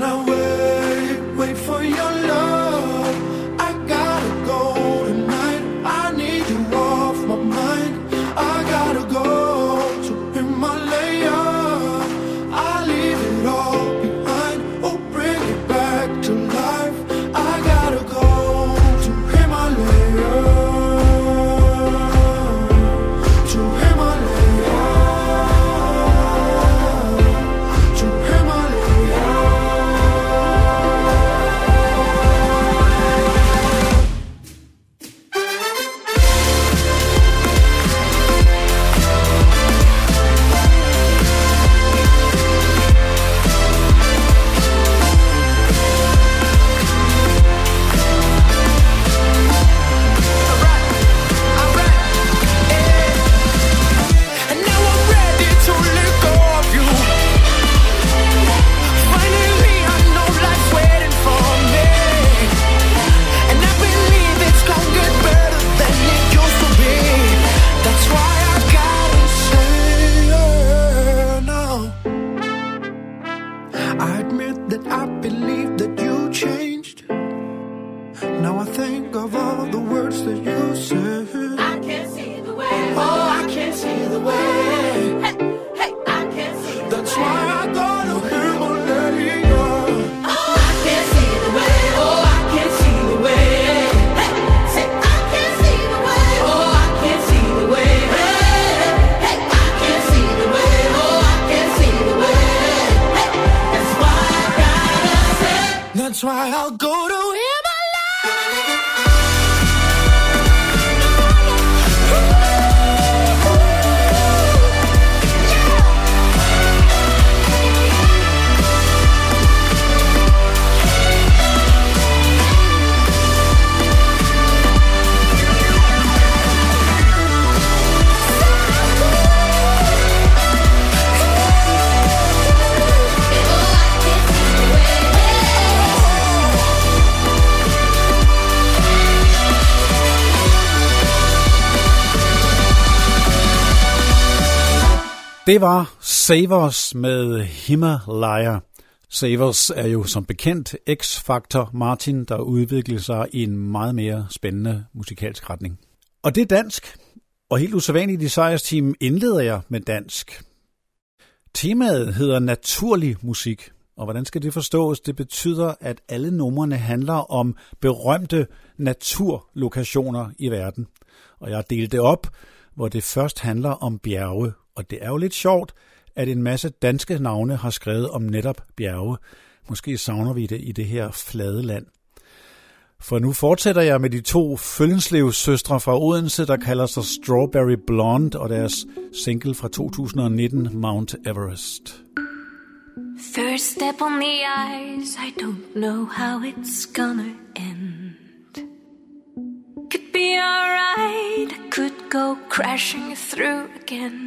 That's why I'll go to Det var Savers med Himalaya. Savers er jo som bekendt X-Factor Martin, der udvikler sig i en meget mere spændende musikalsk retning. Og det er dansk, og helt usædvanligt i Sejrsteam indleder jeg med dansk. Temaet hedder naturlig musik, og hvordan skal det forstås? Det betyder, at alle numrene handler om berømte naturlokationer i verden. Og jeg har delt det op, hvor det først handler om bjerge. Og det er jo lidt sjovt, at en masse danske navne har skrevet om netop bjerge. Måske savner vi det i det her flade land. For nu fortsætter jeg med de to Føllenslevs-søstre fra Odense, der kalder sig Strawberry Blonde, og deres single fra 2019, Mount Everest. First step on the ice, I don't know how it's gonna end. Could be alright, I could go crashing through again.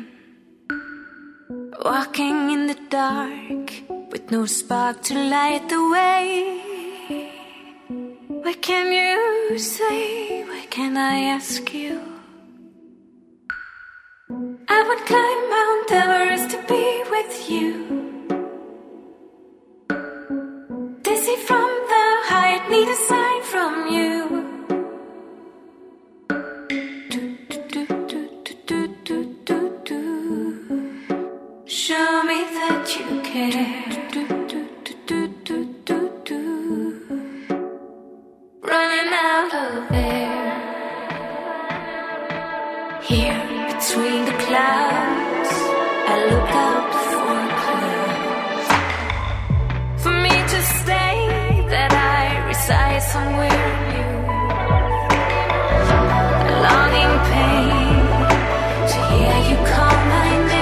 Walking in the dark, with no spark to light the way. What can you say? What can I ask you? I would climb Mount Everest to be with you. Dizzy from the height, need a sign from you. Show me that you care. Running out of air. Here between the clouds, I look out for clues. For me to stay, that I reside somewhere new. The longing pain to hear you call my name.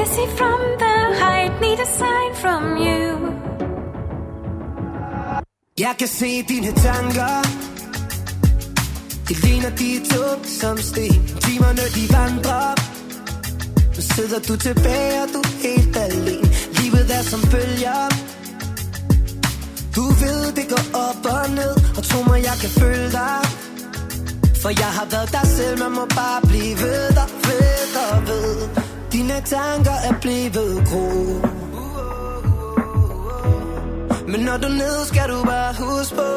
see from the height, need a sign from you. Jeg kan se dine tanker. Det ligner de tog som sten. Timerne de vandrer. Nu sidder du tilbage og du er helt alene. Livet er som bølger. Du ved det går op og ned. Og tro mig jeg kan føle dig. For jeg har været dig selv. Man må bare blive ved der, ved og ved. Dine tanker er blevet grå. Men når du er nede, skal du bare huske på.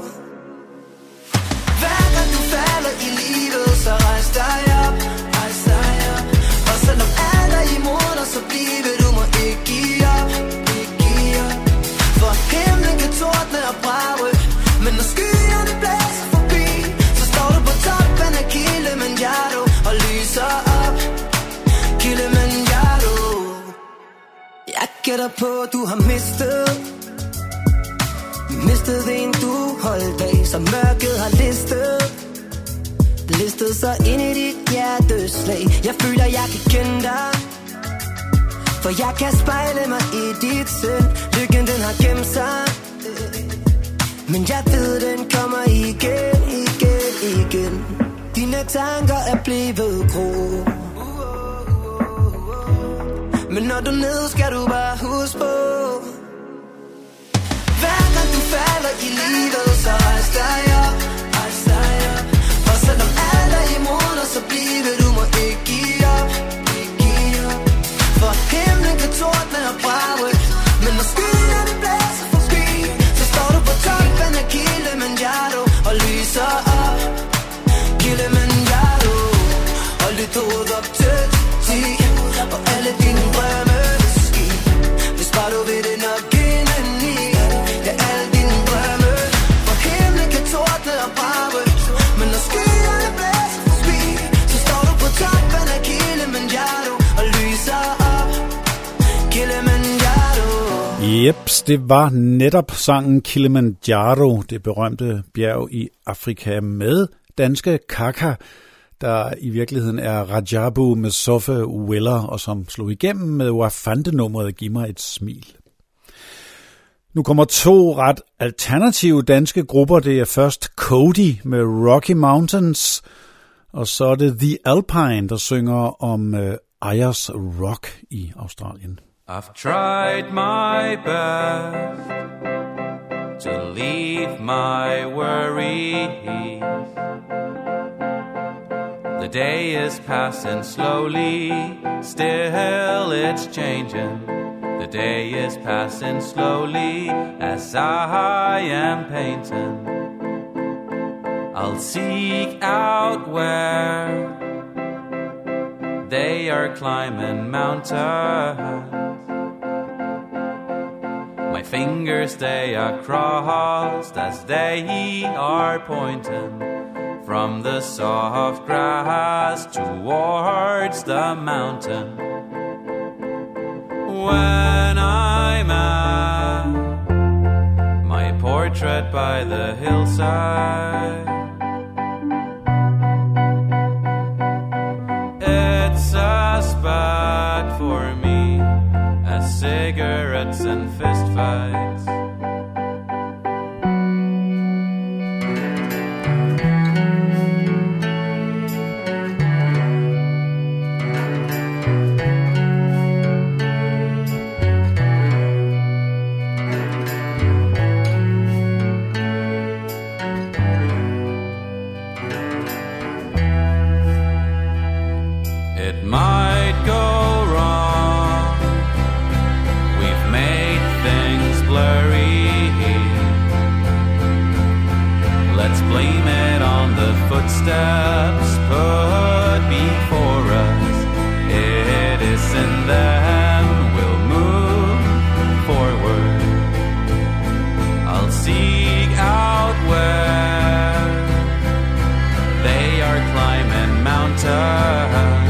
Hver gang du falder i livet, så rejs dig op, rejs dig op. Og selvom alt er imod dig, så bliver du må ikke give op, ikke give op. For himlen kan tordne og brage, men når skyerne blæser forbi, så står du på toppen af Kilimanjaro og lyser op, Kilimanjaro. Jeg gætter på, du har mistet en du holdt af, så mørket har listet sig ind i dit hjerteslag. Jeg føler jeg kan kende dig, for jeg kan spejle mig i dit sind. Lykken den har gemt sig, men jeg ved den kommer igen, igen, igen. Dine tanker er blevet grå. Men når du er nede, skal du bare huske på. Hver gang du falder i livet, så rejs dig op, rejs dig op. For selvom alt er imod dig, så bliver du må ikke give op, ikke give op. For himlen kan tordne og brage, men når skyerne blæser forbi, så står du på toppen af Kilimanjaro og lyser op, Kilimanjaro. Og lidt hovedet op til 10, og alle dine drømme vil ske, hvis bare du vil det nok indeni. Jeps, det var netop sangen Kilimanjaro, det berømte bjerg i Afrika, med danske Kaka, der i virkeligheden er Rajabu med Soffe Weller, og som slog igennem med Wafande-nummeret Giv mig et smil. Nu kommer to ret alternative danske grupper. Det er først Cody med Rocky Mountains, og så er det The Alpine, der synger om Ayers Rock i Australien. I've tried my best to leave my worries. The day is passing slowly, still it's changing. The day is passing slowly as I am painting. I'll seek out where they are climbing mountains. My fingers, they are crossed as they are pointing from the soft grass towards the mountain. When I'm at my portrait by the hillside, it's as bad for me as cigarettes and fistfights. It might go wrong. We've made things blurry. Let's blame it on the footsteps put before us. It isn't them, we'll move forward. I'll seek out where they are climbing mountains.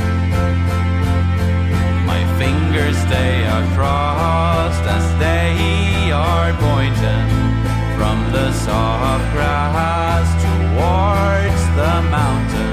They are crossed as they are pointing from the soft grass towards the mountain.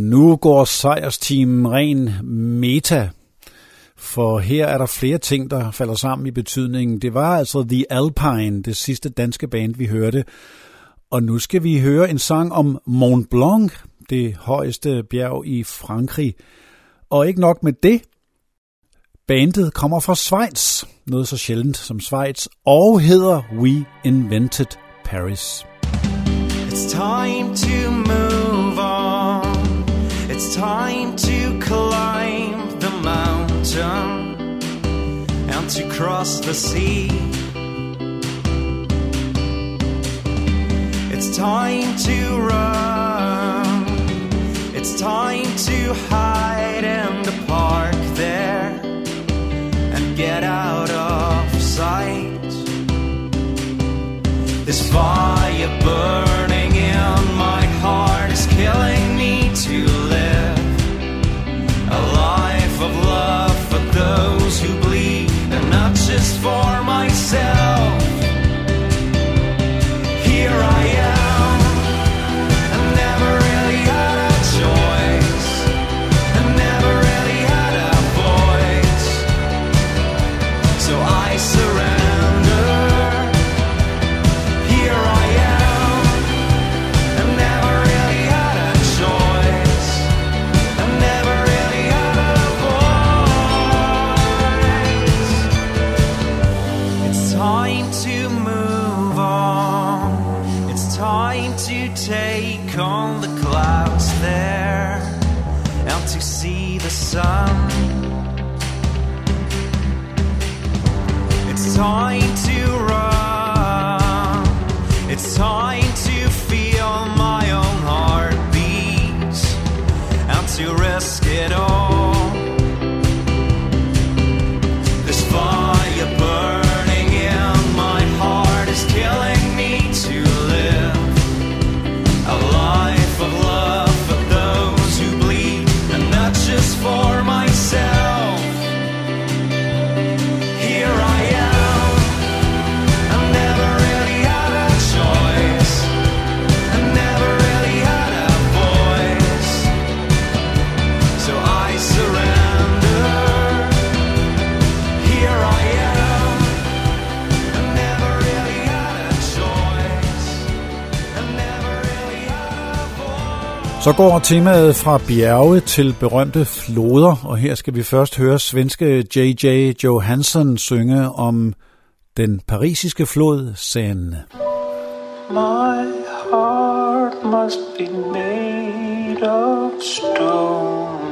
Nu går sejrsteamen ren meta, for her er der flere ting, der falder sammen i betydningen. Det var altså The Alpine, det sidste danske band, vi hørte. Og nu skal vi høre en sang om Mont Blanc, det højeste bjerg i Frankrig. Og ikke nok med det, bandet kommer fra Schweiz, noget så sjældent som Schweiz, og hedder We Invented Paris. It's time to move on. It's time to climb the mountain and to cross the sea. It's time to run. It's time to hide in the park there and get out of sight. This fire burning in my heart is killing me to live a life of love for those who bleed and not just for myself. Here I am, I never really had a choice, I never really had a voice, so I surrender. Here I am, I never really had a choice, I never really had a voice. It's time to move on. It's time to take on the clouds there and to see the sun. It's time to run. It's time to feel my own heartbeat and to risk it all. This fire burning in my heart is killing me to live a life of love for those who bleed and not just for myself. Here I am, I never really had a choice, I never really had a voice, so I surrender. Here I am, I never really had a choice, I never really had a voice. Så går temaet fra bjerge til berømte floder, og her skal vi først høre svenske J.J. Johansson synge om den parisiske flod Seine. My heart must be made of stone.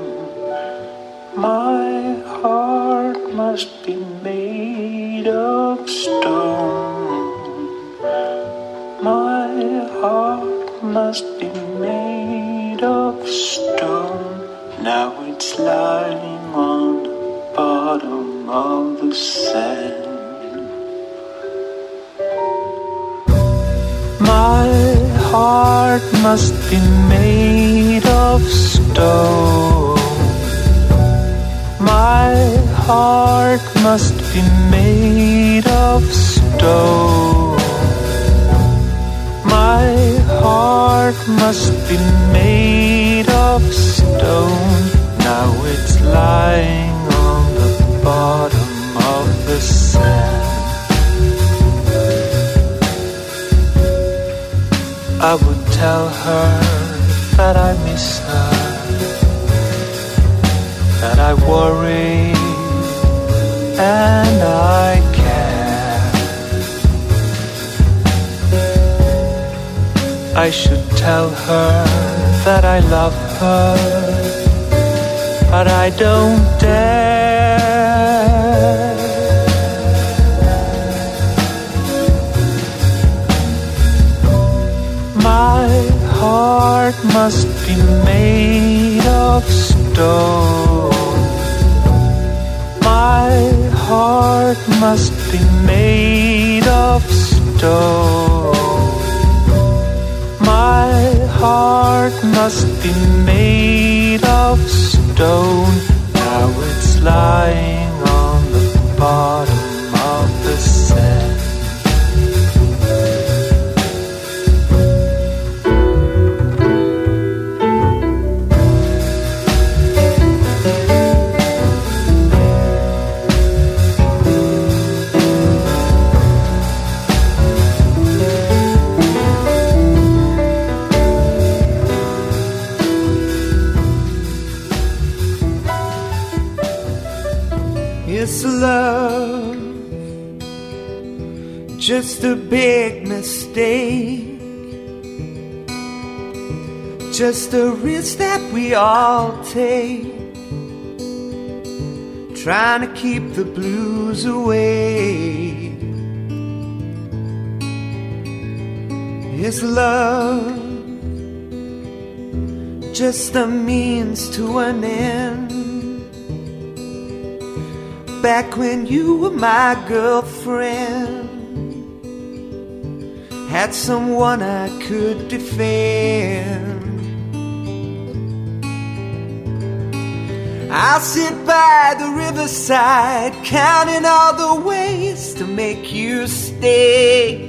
My heart must be made of stone. My heart must be made of stone. Now it's lying on the bottom of the sand. My heart must be made of stone. My heart must be made of stone. My heart must be made of stone. Now it's lying on the bottom of the sand. I would tell her that I miss her, that I worry and I care. I should tell her that I love her, but I don't dare. My heart must be made of stone. My heart must be made of stone. My heart must be made of stone. Now it's lying on the bottom of the sand. Is love just a big mistake? Just a risk that we all take, trying to keep the blues away. Is love just a means to an end? Back when you were my girlfriend, had someone I could defend. I'll sit by the riverside, counting all the ways to make you stay.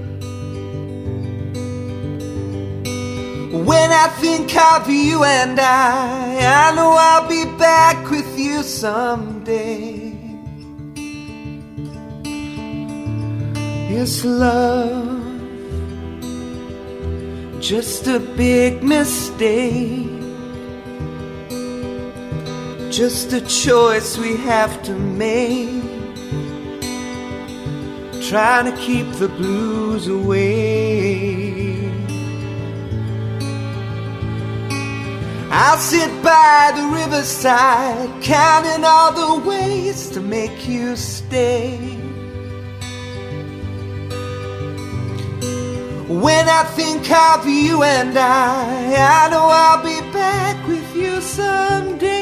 When I think of you and I know I'll be back with you someday. Is love just a big mistake? Just a choice we have to make, trying to keep the blues away. I'll sit by the riverside, counting all the ways to make you stay. When I think of you and I know I'll be back with you someday.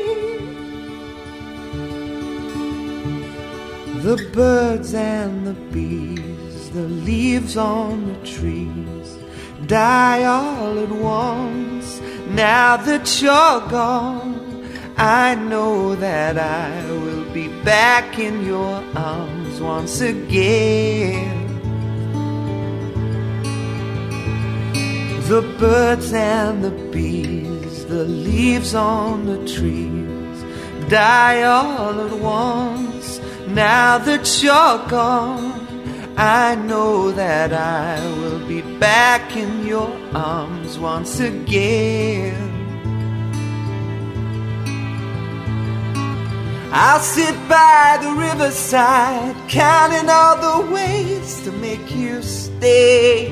The birds and the bees, the leaves on the trees, die all at once. Now that you're gone, I know that I will be back in your arms once again. The birds and the bees, the leaves on the trees, die all at once. Now that you're gone, I know that I will be back in your arms once again. I'll sit by the riverside, counting all the ways to make you stay.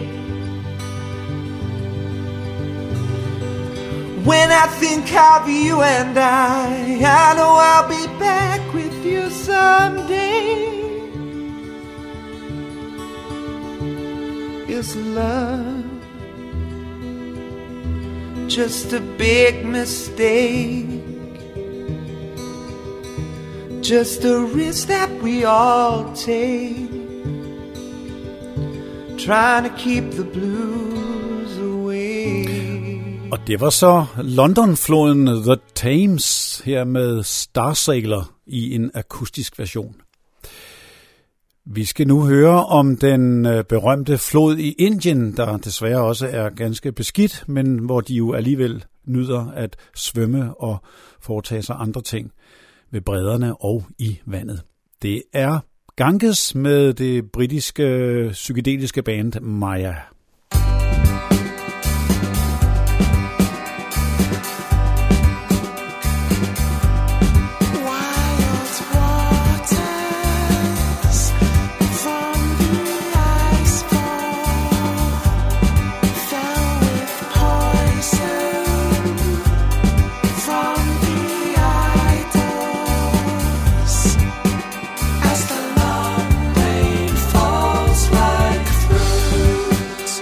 When I think of you and I know I'll be back with you someday. Is love just a big mistake? Just a risk that we all take, trying to keep the blues away. Og det var så London-floden The Thames her med Starsailor i en akustisk version. Vi skal nu høre om den berømte flod i Indien, der desværre også er ganske beskidt, men hvor de jo alligevel nyder at svømme og foretage sig andre ting ved bredderne og i vandet. Det er Ganges med det britiske psykedeliske band Maya. As the long rain falls like fruit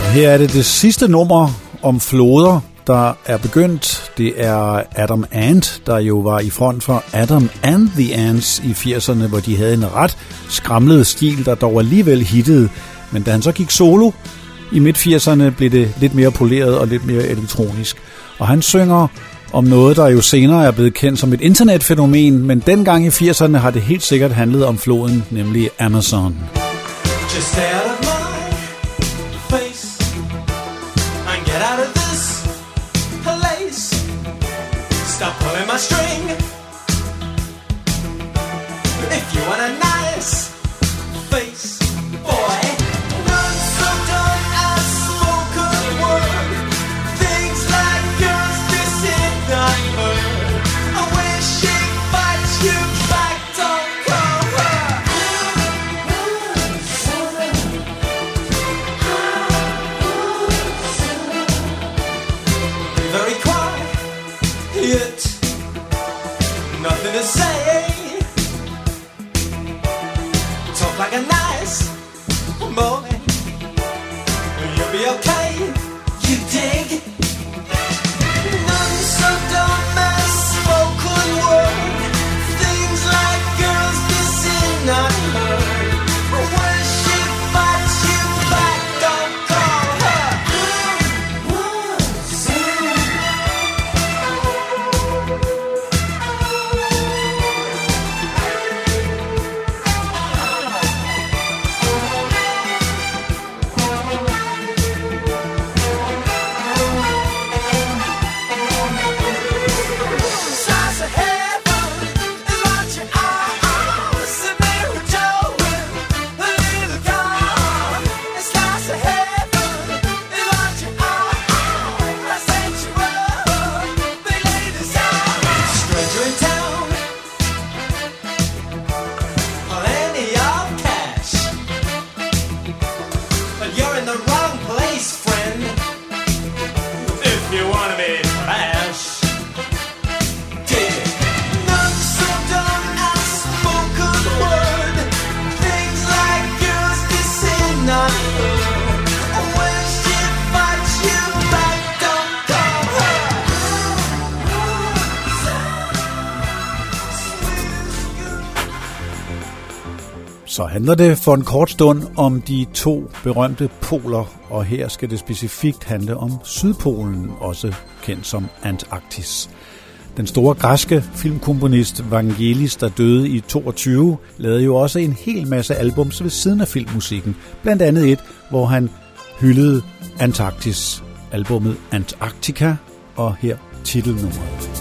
Her er det sidste nummer om floder, der er begyndt. Det er Adam Ant, der jo var i front for Adam and the Ants i 80'erne, hvor de havde en ret skramlet stil, der dog alligevel hittede. Men da han så gik solo i midt-80'erne, blev det lidt mere poleret og lidt mere elektronisk. Og han synger om noget, der jo senere er blevet kendt som et internetfænomen, men dengang i 80'erne har det helt sikkert handlet om floden, nemlig Amazon. Just stay out of my face and get out of this place. Stop pulling my string. If you want a nice face, boy, not so dumb as spoken word. Things like yours, this is not heard. I wish she'd fight you back, don't call her. Very quiet, nothing to say. Talk like a nice boy, you'll be okay. You dig? None so dumb as spoken word. Things like girls missing not heard. When she fights you back, don't call her. Slice of heaven is what you are. Sitting there with Joe in a little car. A slice of heaven is what you are. I sent you up, big ladies out. Stranger in town, plenty of cash, but you're in the wrong place, friend. If you wanna be trash. Not so dumb as spoken word. Things like yours missing not heard. When she fights you back, don't call her. Så handler det for en kort stund om de to berømte poler, og her skal det specifikt handle om Sydpolen, også kendt som Antarktis. Den store græske filmkomponist Vangelis, der døde i 22, lavede jo også en hel masse albums ved siden af filmmusikken. Blandt andet et, hvor han hyldede Antarktis, albummet Antarctica, og her titelnummeret.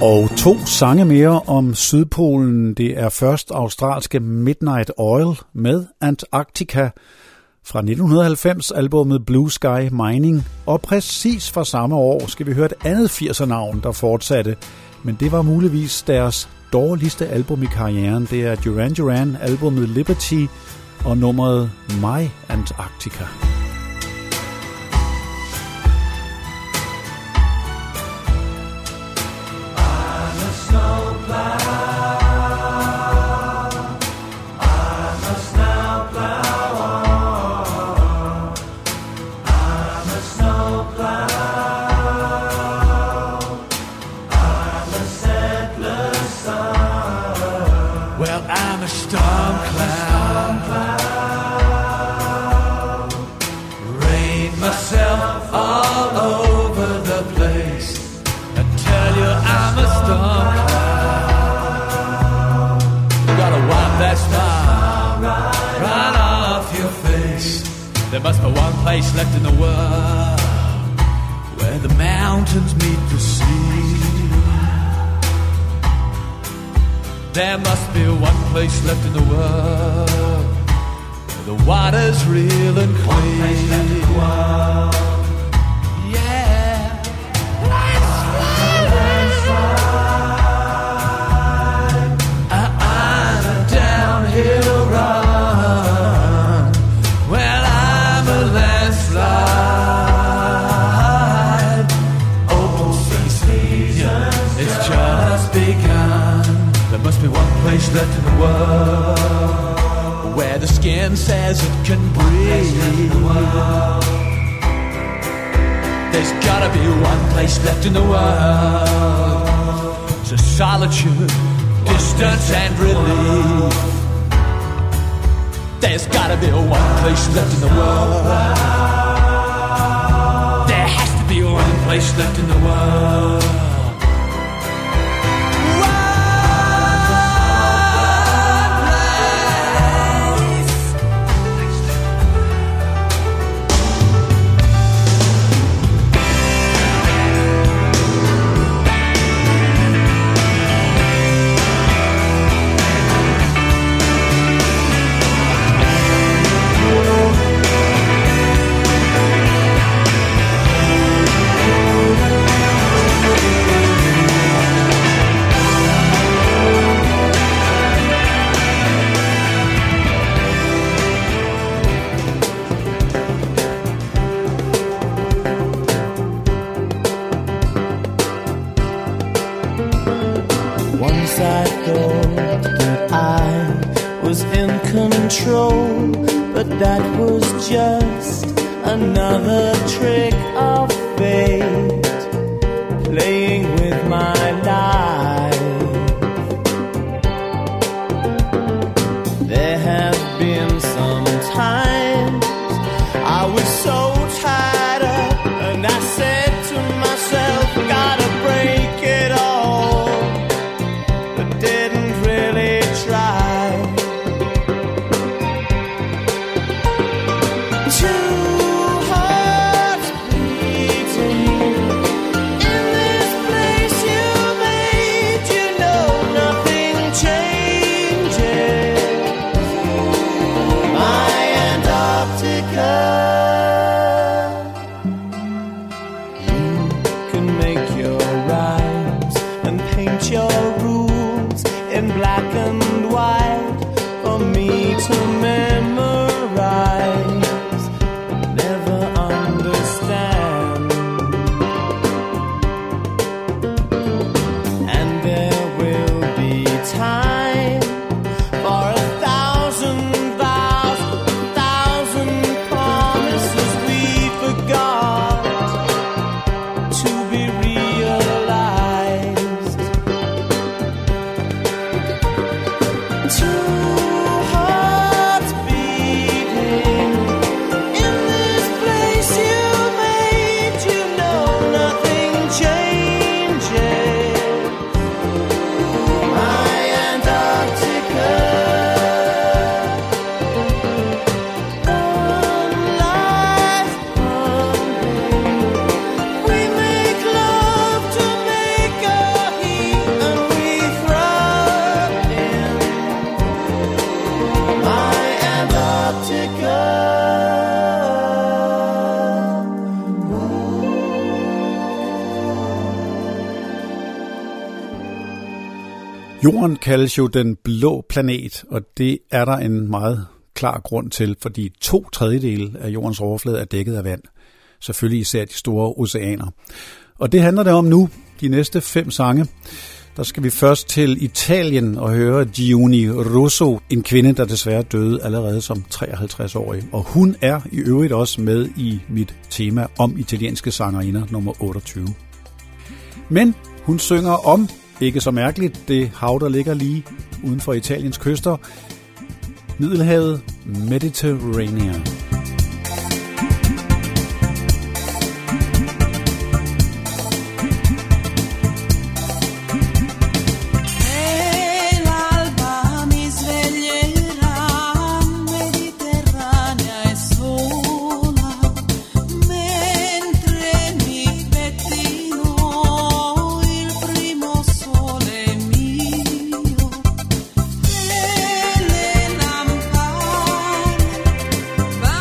Og 2 sange mere om Sydpolen. Det er først australske Midnight Oil med Antarctica fra 1990, albumet Blue Sky Mining. Og præcis fra samme år skal vi høre et andet 80'er-navn, der fortsatte. Men det var muligvis deres dårligste album i karrieren. Det er Duran Duran, albumet Liberty og nummeret My Antarctica. There must be one place left in the world where the mountains meet the sea. There must be one place left in the world where the water's real and clean. One place left in the world. Yeah. Let's ride a downhill run. Place left in the world where the skin says it can breathe. There's gotta be one place left in the world to solitude, distance and relief. There's gotta be one place left in the world. There has to be one place left in the world. But that was just another trick of fate playing with my life. There have been some times I was so tied up and I said to myself, gotta break it all, but didn't really try. Jorden kaldes jo den blå planet, og det er der en meget klar grund til, fordi 2/3 af jordens overflade er dækket af vand. Selvfølgelig især de store oceaner. Og det handler det om nu, de næste 5 sange. Der skal vi først til Italien og høre Giuni Russo, en kvinde, der desværre døde allerede som 53-årig. Og hun er i øvrigt også med i mit tema om italienske sangerinder nummer 28. Men hun synger om, ikke så mærkeligt, det hav, der ligger lige uden for Italiens kyster, Middelhavet, Mediterranean. Bye.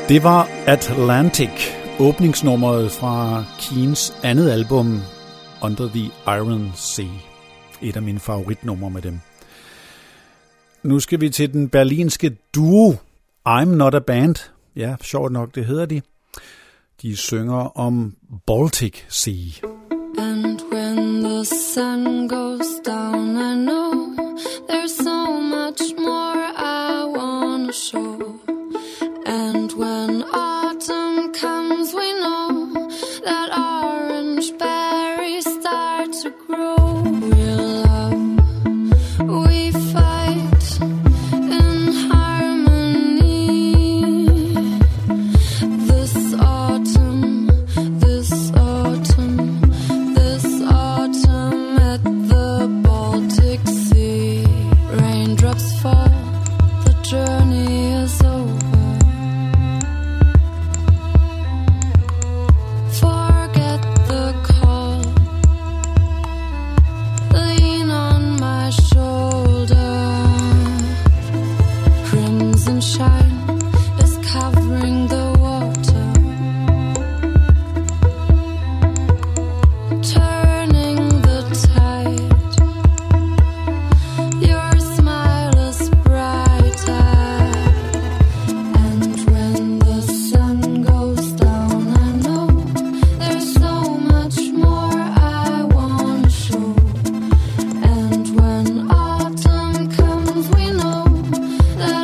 Det var Atlantic, åbningsnummeret fra Keens andet album, Under the Iron Sea. Et af mine favoritnumre med dem. Nu skal vi til den berlinske duo I'm Not a Band. Ja, sjovt nok, det hedder de. De synger om Baltic Sea. And when the sun goes down, I know there's so much more I want to show. And when autumn comes, we know that orange berries start to grow. We'll love, we fight in harmony. This autumn, this autumn, this autumn at the Baltic Sea. Raindrops fall, the journey is over. Shine is covering the water, turning the tide. Your smile is brighter, and when the sun goes down, I know there's so much more I want to show. And when autumn comes, we know that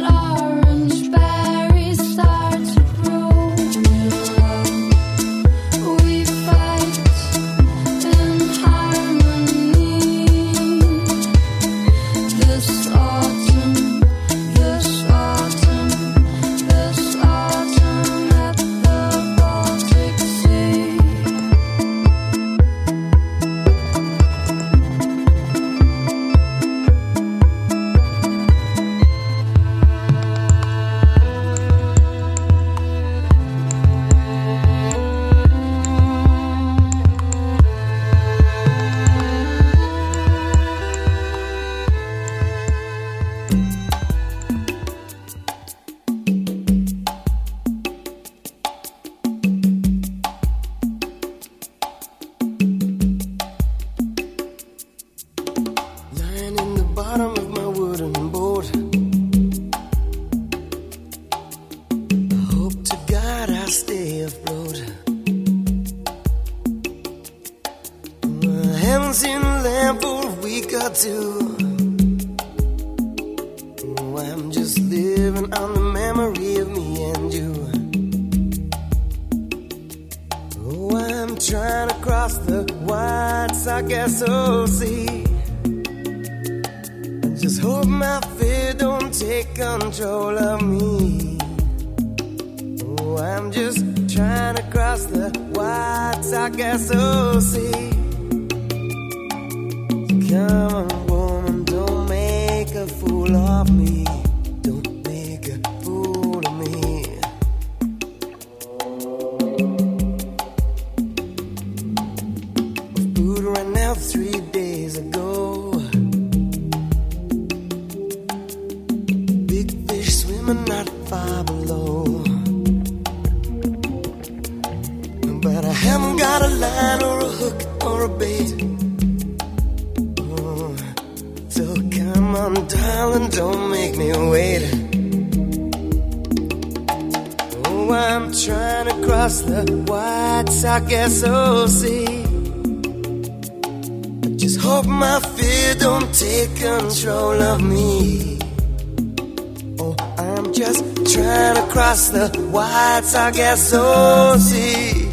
I guess so, see.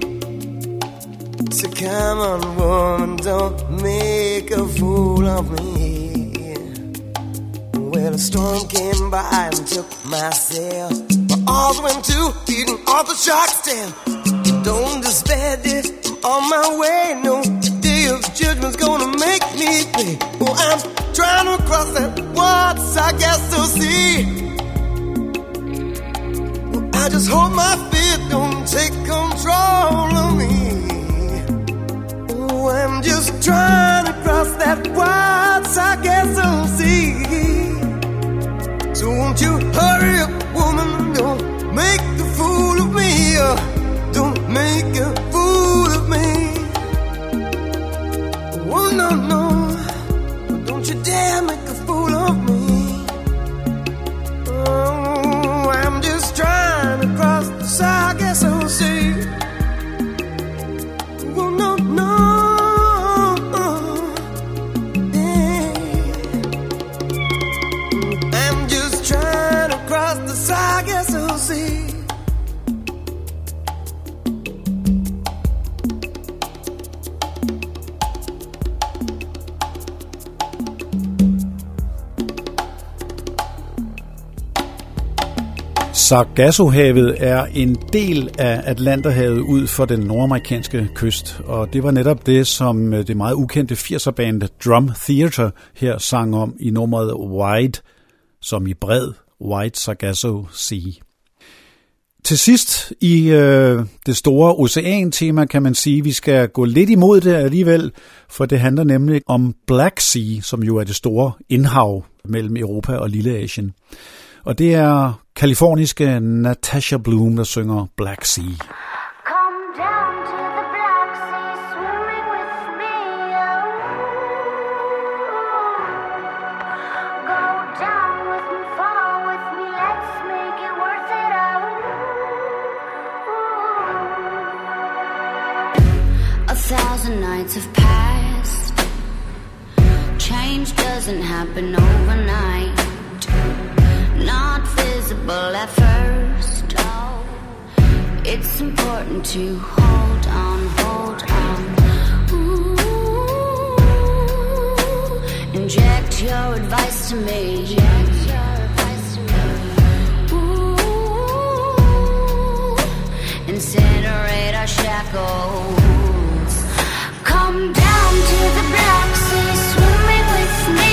So come on, woman, don't make a fool of me. Well, a storm came by and took my sail. My arms went to beating off the shark's tail. Don't despair, dear, I'm on my way. No day of judgment's gonna make me pay. Oh, I'm trying to cross that water, I guess so, see. I just hope my fear don't take control of me. Oh, I'm just trying to cross that wide Sargasso Sea. So won't you hurry up, woman, don't make the fool Sargassohavet er en del af Atlanterhavet ud for den nordamerikanske kyst, og det var netop det, som det meget ukendte 80'er-band Drum Theater her sang om i nummeret Wide, som i bred, Wide Sargasso Sea. Til sidst i det store ocean-tema kan man sige, at vi skal gå lidt imod det alligevel, for det handler nemlig om Black Sea, som jo er det store indhav mellem Europa og Lilleasien. Og det er kaliforniske Natasha Bloom, der synger Black Sea. Come down to the Black Sea, swimming with me. Go down with me, fall with me, let's make it worth it. A thousand nights have passed. Change doesn't happen overnight. Not visible at first. It's important to hold on, hold on. Ooh, inject your advice to me. Ooh, incinerate our shackles. Come down to the Black Sea, swimming with me.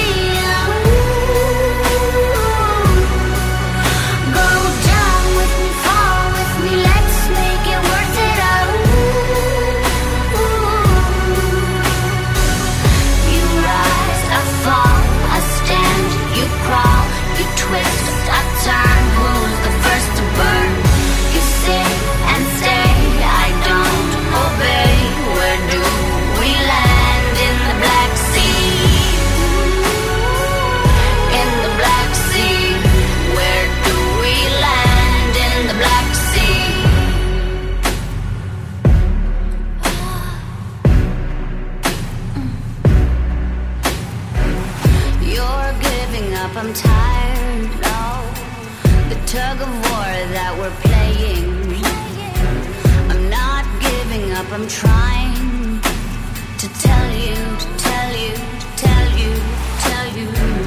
I'm tired, no. The tug of war that we're playing. I'm not giving up, I'm trying to tell you, to tell you, to tell you, tell you.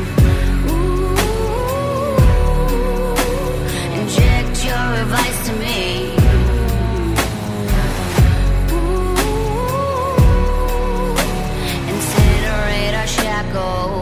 Ooh, inject your advice to me. Ooh, incinerate our shackles.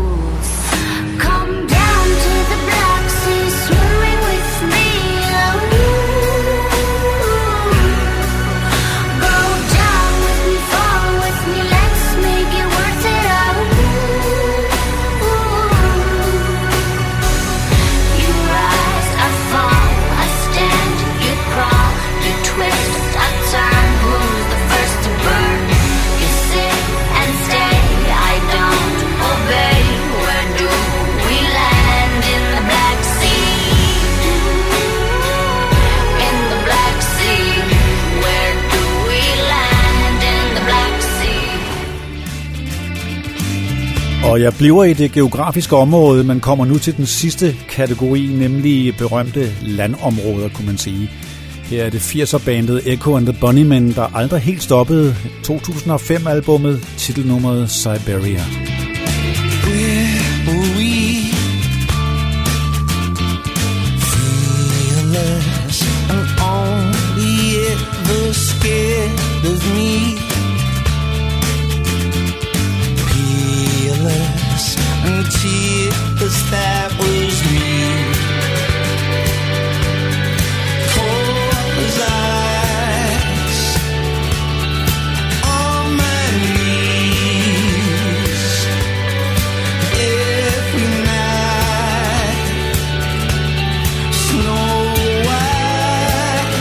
Og jeg bliver i det geografiske område, men kommer nu til den sidste kategori, nemlig berømte landområder, kunne man sige. Her er det 80'er-bandet Echo and the Bunnymen, der aldrig helt stoppede 2005-albummet, titelnummeret Siberia. And tears, that was me. Cold as ice on my knees every night. Snow white.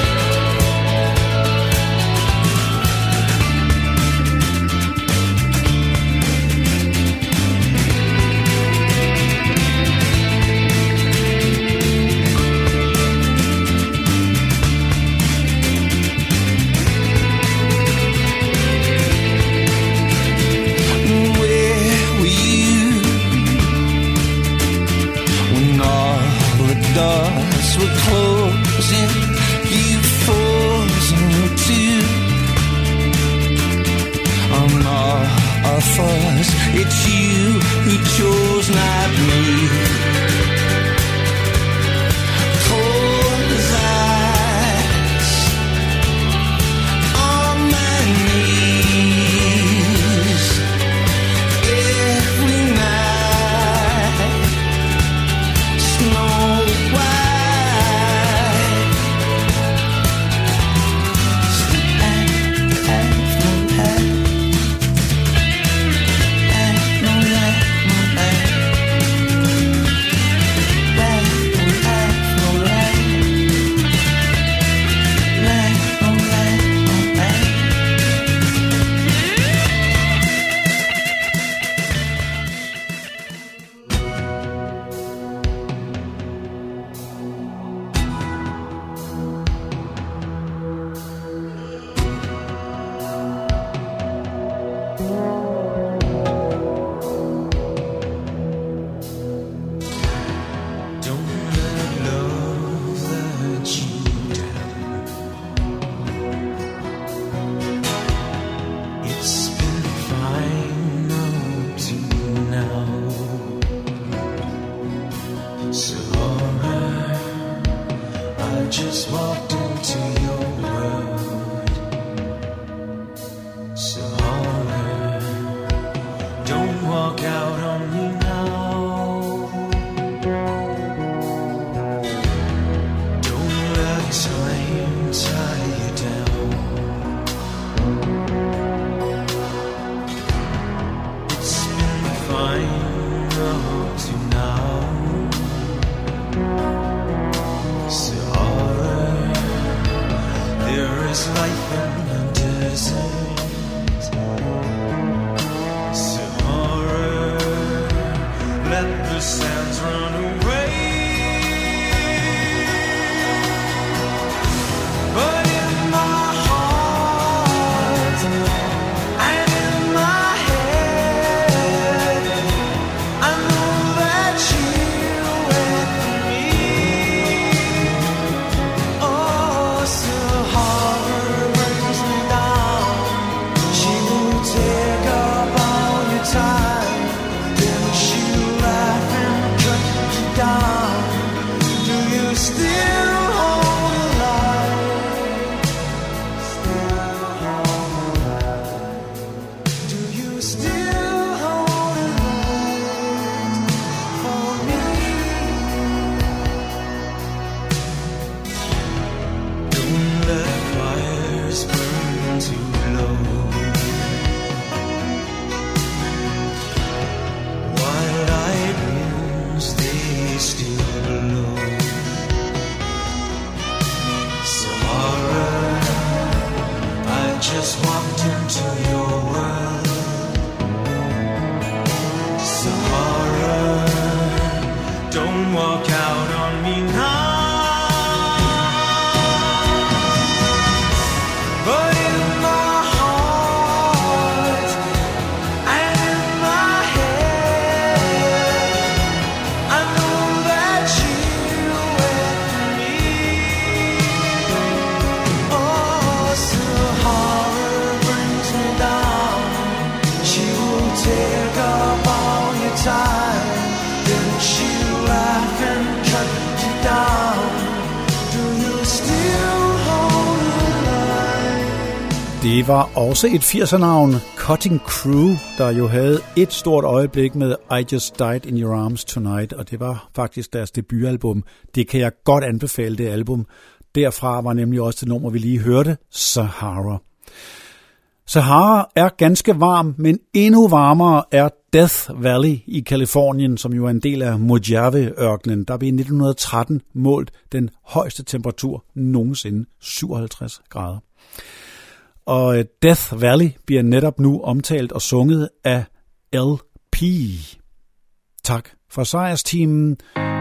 sands run away. But in my heart and in my head, I know that you're with me. Oh, Sahara brings me down. She will take up all your time, then she'll laugh and cut you down. Do you still hold a light? Still hold a light? Do you still hold a light for me? Don't let fires burn too low. Wild-eyed winds, they still blow. Sahara, I just walked into your world. Sahara, don't walk out on me now. But in my heart and in my head, I know that you're with me. Oh, Sahara brings me down. She will take up all your time, then she'll laugh and cut you down. Do you still hold a light? Det var også et 80'er-navn, Cutting Crew, der jo havde et stort øjeblik med I Just Died in Your Arms Tonight, og det var faktisk deres debutalbum. Det kan jeg godt anbefale, det album. Derfra var nemlig også det nummer, vi lige hørte, Sahara. Sahara er ganske varm, men endnu varmere er Death Valley i Kalifornien, som jo er en del af Mojave-ørkenen. Der blev i 1913 målt den højeste temperatur nogensinde, 57 grader. Og Death Valley bliver netop nu omtalt og sunget af LP. Tak for sejrsteamen.